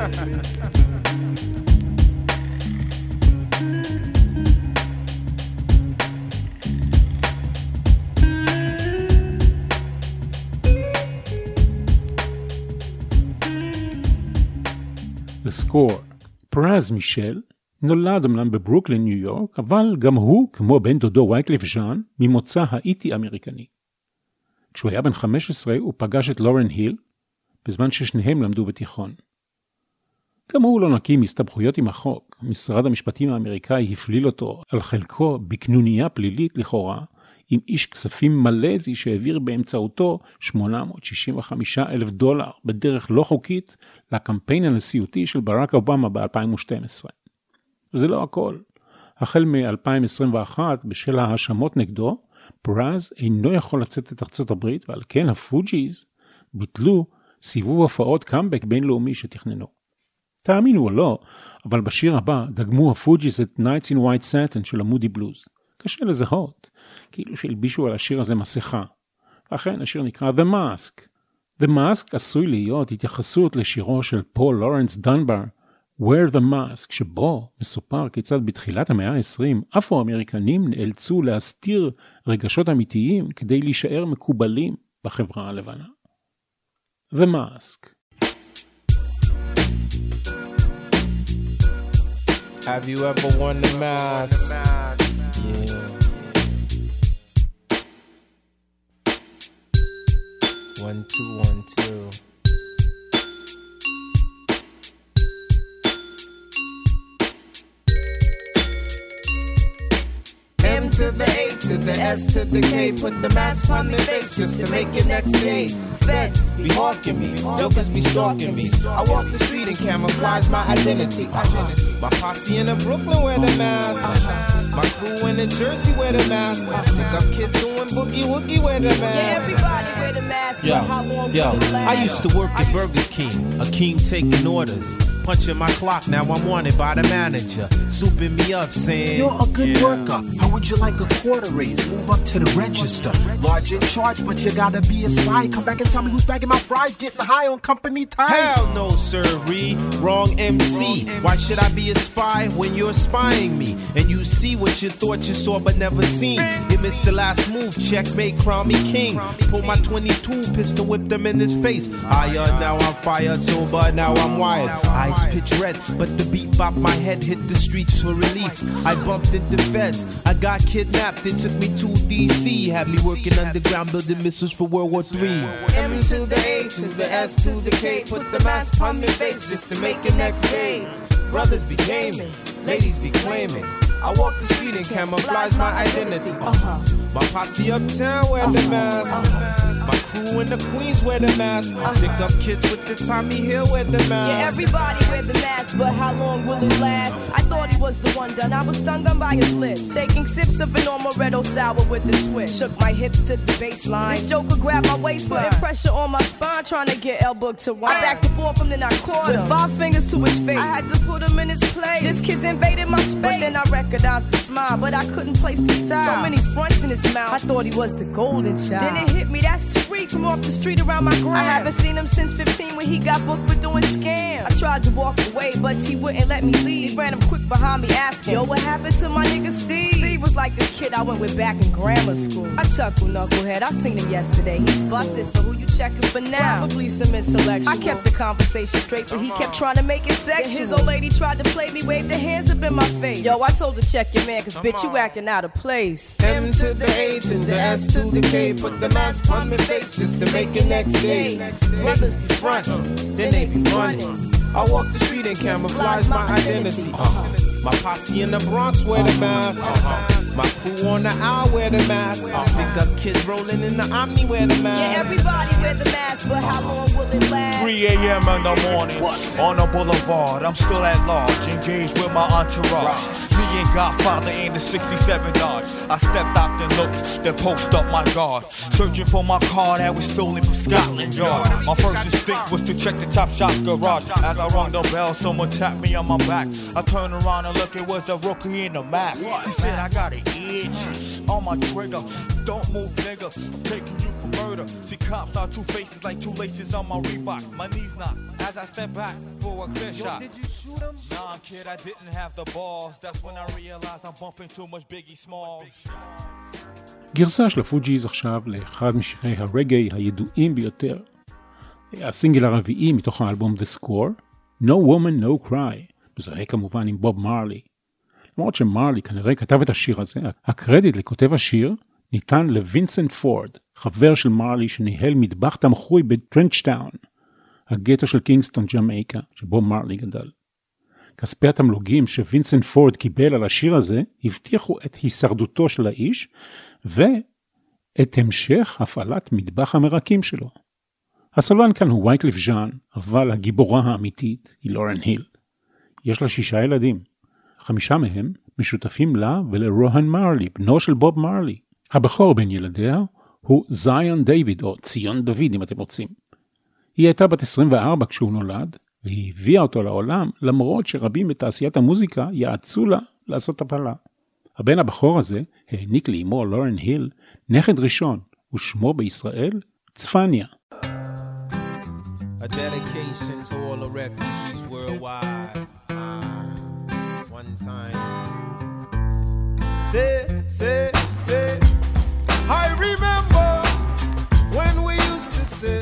לסקור. פרז מישל נולד אמנם בברוקלין, ניו יורק, אבל גם הוא, כמו בן דודו וייקליף ז'אן, ממוצא האיטי-אמריקני. כשהוא היה בן 15, הוא פגש את לורן היל, בזמן ששניהם למדו בתיכון. גם הוא לא נקי מסתבכויות עם החוק. משרד המשפטים האמריקאי הפליל אותו על חלקו בקנוניה פלילית לכאורה, עם איש כספים מלזי שהעביר באמצעותו $865,000 בדרך לא חוקית לקמפיין הנשיאותי של ברק אובמה ב-2012. זה לא הכל. החל מ-2021, בשל ההאשמות נגדו, פרז אינו יכול לצאת את ארצות הברית, ועל כן הפוג'יז ביטלו סיבוב הופעות קאמבק בינלאומי שתכננו. תאמינו או לא, אבל בשיר הבא דגמו הפוג'יז את Nights in White Satin של המודי בלוז. קשה לזהות, כאילו שהלבישו על השיר הזה מסכה. ואכן, השיר נקרא The Mask. The Mask עשוי להיות התייחסות לשירו של פול לורנס דנבר, Wear the Mask, שבו מסופר כיצד בתחילת המאה ה-20 אפרו-אמריקנים נאלצו להסתיר רגשות אמיתיים כדי להישאר מקובלים בחברה הלבנה. The Mask. Have you ever worn the mask? Yeah. 1 2 1 2. M to the A to the S to the K. Put the mask on the face just to make it next day. Feds be hawking me, jokers be stalking me. I walk the street and camouflage my identity. My posse in the Brooklyn wear the mask. My crew in the Jersey wear the mask. Stick up kids doing boogie woogie wear the mask. Yeah, everybody wear the mask. Yo, I used to work at Burger King, a king taking orders. Punching my clock, now I'm wanted by the manager. Souping me up, saying, you're a good worker. How would you like a quarter raise? Move up to the register. Large in charge, but you gotta be a spy. Come back and tell me who's bagging my fries, getting high on company time. Hell no, sirree. Wrong MC. Why should I be a spy when you're spying me? And you see what you thought you saw but never seen. You missed the last move, checkmate, crown me king. Pull my 22 pistol, whip them in his face. Higher, now I'm fired, sober, now I'm wired. Eyes pitch red, but the beat bop my head, hit the streets for relief. I bumped into feds, I got kidnapped, it took me to DC. Had me working underground, building missiles for World War III. M to the A to the S to the K, put the mask on my face just to make it next day. Brothers be gaming, ladies be claiming. I walk the street and camouflage my identity. My posse uptown wear the mask. My crew in the Queens wear the mask. Stick up kids with the Tommy Hill wear the mask. Yeah, everybody wear the mask, but how long will it last? I thought he was the one done. I was stung on by his lips. Taking sips of an Amaretto sour with a twist. Shook my hips to the baseline. This joker grabbed my waistline. Putting pressure on my spine, trying to get Elbow to wine. I backed the ball from then I caught him. With 5 fingers to his face. I had to put him in his place. This kid's invaded my space. But then I recognized the smile, but I couldn't place the style. So many fronts in his mouth. I thought he was the golden child. Then it hit me, that's Tariq from off the street around my gram. I haven't seen him since 15 when he got booked for doing scams. I tried to walk away, but he wouldn't let me leave. He ran him quick behind me asking, yo, what happened to my nigga Steve? Steve was like this kid I went with back in grammar school. I chuckle, knucklehead, I seen him yesterday. He's busted, so who you checking for now? Probably some intellectual. I kept the conversation straight, but he kept trying to make it sexual. His old lady tried to play me, waved her hands up in my face. Yo, I told her check your man, cause bitch, you acting out of place. M to the A to the S to the K, put the mask on my face just to make it next day. Brothers be frontin', then they be running. I walk the street and camouflage my identity. My posse in the Bronx wear the mask. My crew on the owl wear the mask. Stick up kids rolling in the Omni wear the mask. Yeah, everybody wear the mask, but how long will it last? 3 a.m. in the morning, on the boulevard, I'm still at large, engaged with my entourage. Me and Godfather in the 67 Dodge. I stepped out and looked, then post up my guard, searching for my car that was stolen from Scotland Yard. My first instinct was to check the Chop Shop garage. As I rung the bell, someone tapped me on my back. I turned around and looked, it was a rookie in the mask. He said, I got an itch on my trigger. Don't move, nigga, I'm taking you for murder. See, cops are two faces like two laces on my Reeboks. My knees knock as I step back for a clear shot. Did you shoot him? Nah, kid, I didn't have the balls. That's when I realized I'm bumping too much Biggie Smalls. גרסה של הפוג'יז עכשיו לאחד משירי הרגעי הידועים ביותר. הסינגל הרביעי מתוך האלבום The Score, No Woman No Cry, מזוהה כמובן עם בוב מרלי. למרות שמרלי כנראה כתב את השיר הזה, הקרדיט לכותב השיר ניתן לווינסנט פורד, חבר של מרלי שניהל מטבח תמחוי בטרנצ'טאון, הגטו של קינגסטון ג'מייקה, שבו מרלי גדל. כספי התמלוגים שווינסנט פורד קיבל על השיר הזה, הבטיחו את הישרדותו של האיש, ואת המשך הפעלת מטבח המרקים שלו. הסולן כאן הוא וייקליף ז'אן, אבל הגיבורה האמיתית היא לורן היל. יש לה 6 ילדים. 5 מהם משותפים לה ולרוהן מרלי, בנו של בוב מרלי. הבכור בין ילדיה הוא זיון דיוויד, או ציון דוד אם אתם רוצים. היא הייתה בת 24 כשהוא נולד, והיא הביאה אותו לעולם, למרות שרבים בתעשיית המוזיקה יעצו לה לעשות הפלה. הבן הבכור הזה העניק לאמו לורן היל נכד ראשון, ושמו בישראל צפניה. A dedication to all the refugees worldwide. One time. Say. I remember when we used to sit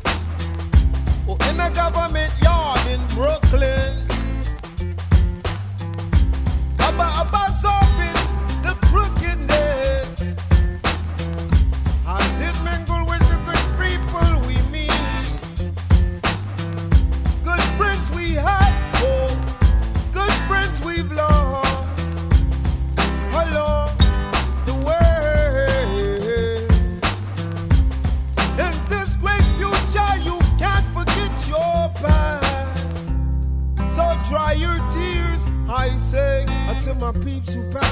in a government yard in Brooklyn. About solving the crookedness. As it mingle with the good people we meet. Good friends we had, good friends we've lost along the way. In this great future, you can't forget your past. So dry your tears, I say, to my peeps who pass.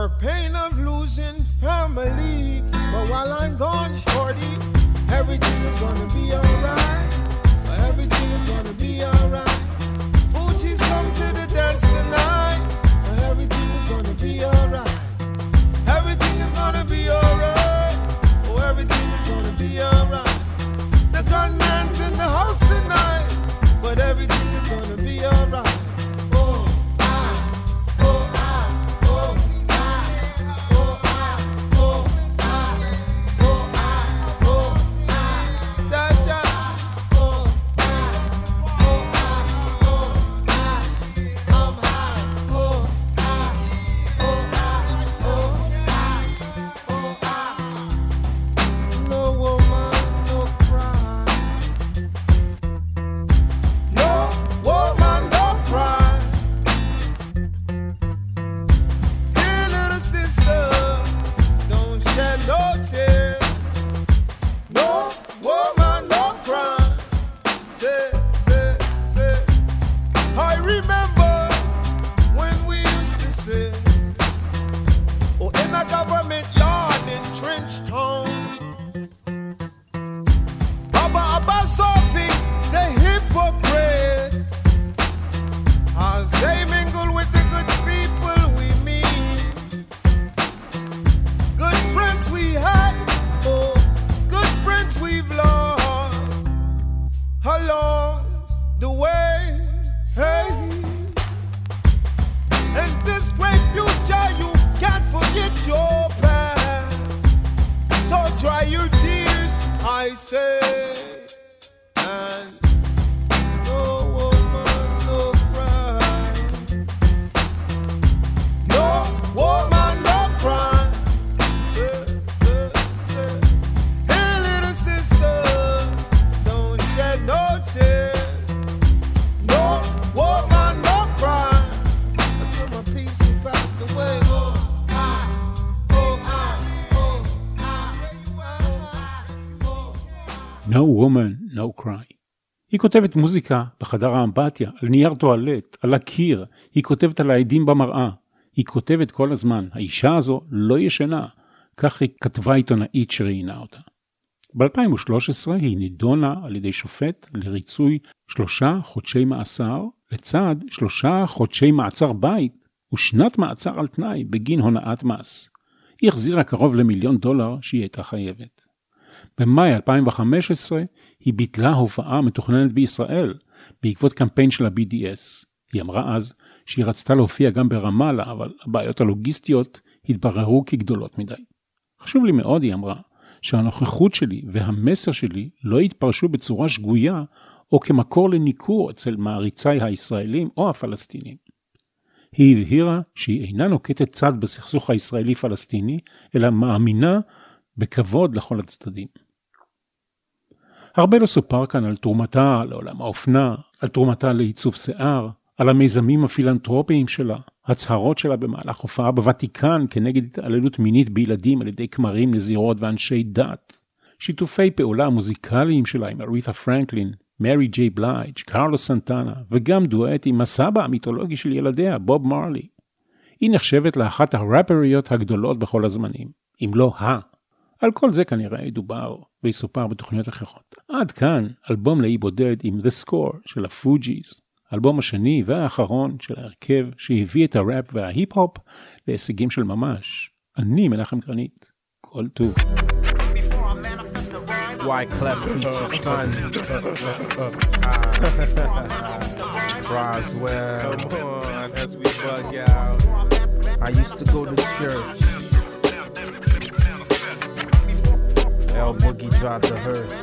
or pain of losing family. But while I'm gone, shorty, everything is gonna be alright. Everything is gonna be alright. Fuji's come to the dance tonight. Everything is gonna be alright. Everything is gonna be alright. Oh, everything is gonna be alright. The gunman's in the house tonight, but everything is gonna be alright. No woman, no cry. היא כותבת מוזיקה בחדר האמבטיה, על נייר טואלט, על הקיר. היא כותבת על העדים במראה. היא כותבת כל הזמן, האישה הזו לא ישנה. כך היא כתבה עיתונאית שראיינה אותה. ב-2013 היא נידונה על ידי שופט לריצוי 3 חודשי מאסר, לצד 3 חודשי מעצר בית ושנת מעצר על תנאי בגין הונאת מס. היא החזירה קרוב $1 מיליון שהיא הייתה חייבת. במאי 2015 היא ביטלה הופעה מתוכננת בישראל בעקבות קמפיין של ה-BDS. היא אמרה אז שהיא רצתה להופיע גם ברמאללה, אבל הבעיות הלוגיסטיות התבררו כגדולות מדי. חשוב לי מאוד, היא אמרה, שהנוכחות שלי והמסר שלי לא יתפרשו בצורה שגויה או כמקור לניקור אצל מעריצי הישראלים או הפלסטינים. היא הבהירה שהיא אינה נוקטת צד בסכסוך הישראלי-פלסטיני, אלא מאמינה בכבוד לכל הצדדים. הרבה לא סופר כאן על תרומתה לעולם האופנה, על תרומתה לעיצוב שיער, על המיזמים הפילנטרופיים שלה, הצהרות שלה במהלך הופעה בוותיקן כנגד התעללות מינית בילדים על ידי כמרים, נזירות ואנשי דת, שיתופי פעולה מוזיקליים שלה עם אריתה פרנקלין, מרי ג'יי בלייג', קרלוס סנטנה, וגם דואט עם הסבא המיתולוגי של ילדיה, בוב מרלי. היא נחשבת לאחת הראפריות הגדולות בכל הזמנים, אם לא על כל זה כנראה ידובר ויסופר בתוכניות אחרות. עד כאן אלבום לאי בודד עם The Score של הפוג'יז, האלבום השני והאחרון של ההרכב שהביא את הראפ וההיפ-הופ להישגים של ממש. אני מנחם גרנית, כל טוב. Wyclef Preacher's son. Roswell. Come on, as we bug out. I used to go to church. L Boogie drive the hearse.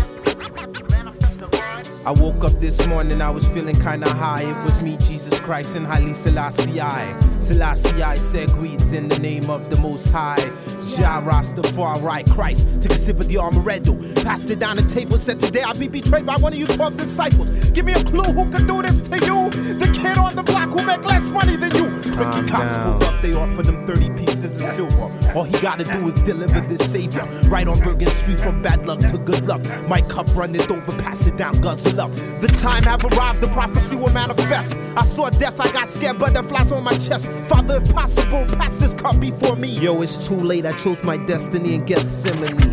I woke up this morning, I was feeling kinda high. It was me, Jesus Christ, and Haile Selassie I. Selassie I said greetings in the name of the Most High. Jah Rastafari Christ took a sip of the Amaretto, passed it down the table, said today I'll be betrayed by one of you 12 disciples. Give me a clue who could do this to you. The kid on the block who make less money than you. Ricky Cops pulled up, they offered him 30 pieces of silver. All he gotta do is deliver this savior. Right on Bergen Street from bad luck to good luck. My cup runneth over, pass it down, guzzle up. The time have arrived, the prophecy will manifest. I saw death, I got scared, butterflies on my chest. Father, if possible, pass this cup before me. Yo, it's too late, I chose my destiny in Gethsemane.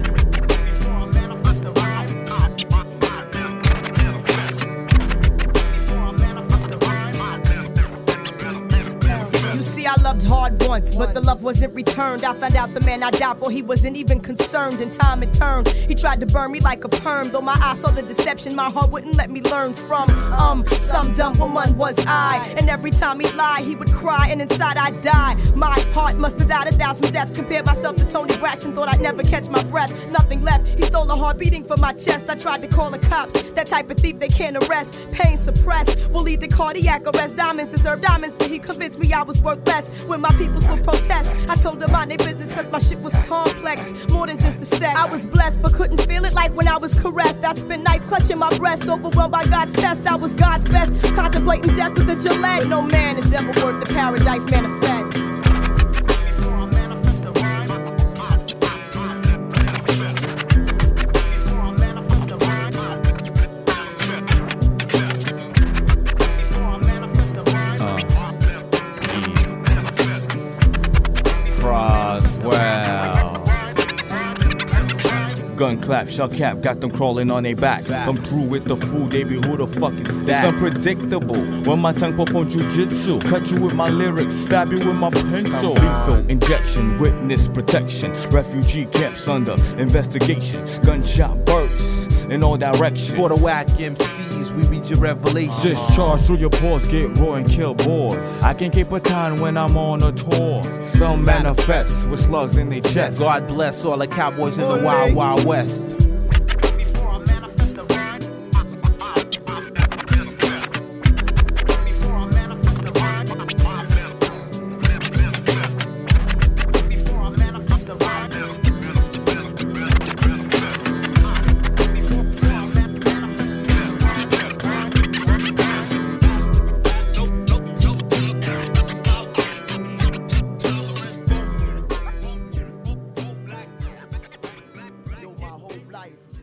I loved hard once, but the love wasn't returned. I found out the man I died for, he wasn't even concerned. In time it turned, he tried to burn me like a perm. Though my eyes saw the deception, my heart wouldn't let me learn from some dumb woman was I. And every time he'd lie, he would cry, and inside I'd die. My heart must have died 1,000 deaths. Compared myself to Tony Braxton, thought I'd never catch my breath. Nothing left, he stole a heart beating from my chest. I tried to call the cops, that type of thief they can't arrest. Pain suppressed will lead to cardiac arrest. Diamonds deserve diamonds, but he convinced me I was worthless. When my peoples would protest, I told them mind their business cause my shit was complex, more than just a sex. I was blessed but couldn't feel it like when I was caressed. I'd spend nights clutching my breast, overwhelmed by God's test. I was God's best, contemplating death with a Gillette. No man is ever worth the paradise manifest. Gun clap, shell cap, got them crawling on their backs. I'm through with the food, they be who the fuck is that? It's unpredictable when my tongue perform jujitsu. Cut you with my lyrics, stab you with my pencil. Lethal injection, witness protection. Refugee camps under investigation. Gunshot bursts in all directions. For the whack MCs, we read your revelation. Discharge through your pores, get raw and kill boars. I can keep a time when I'm on a tour. Some manifest with slugs in their chest. God bless all the cowboys in the wild, wild west. Life.